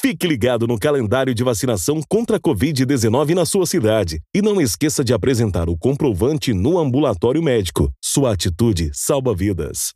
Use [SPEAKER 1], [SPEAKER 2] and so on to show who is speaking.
[SPEAKER 1] Fique ligado no calendário de vacinação contra a Covid-19 na sua cidade. E não esqueça de apresentar o comprovante no ambulatório médico. Sua atitude salva vidas.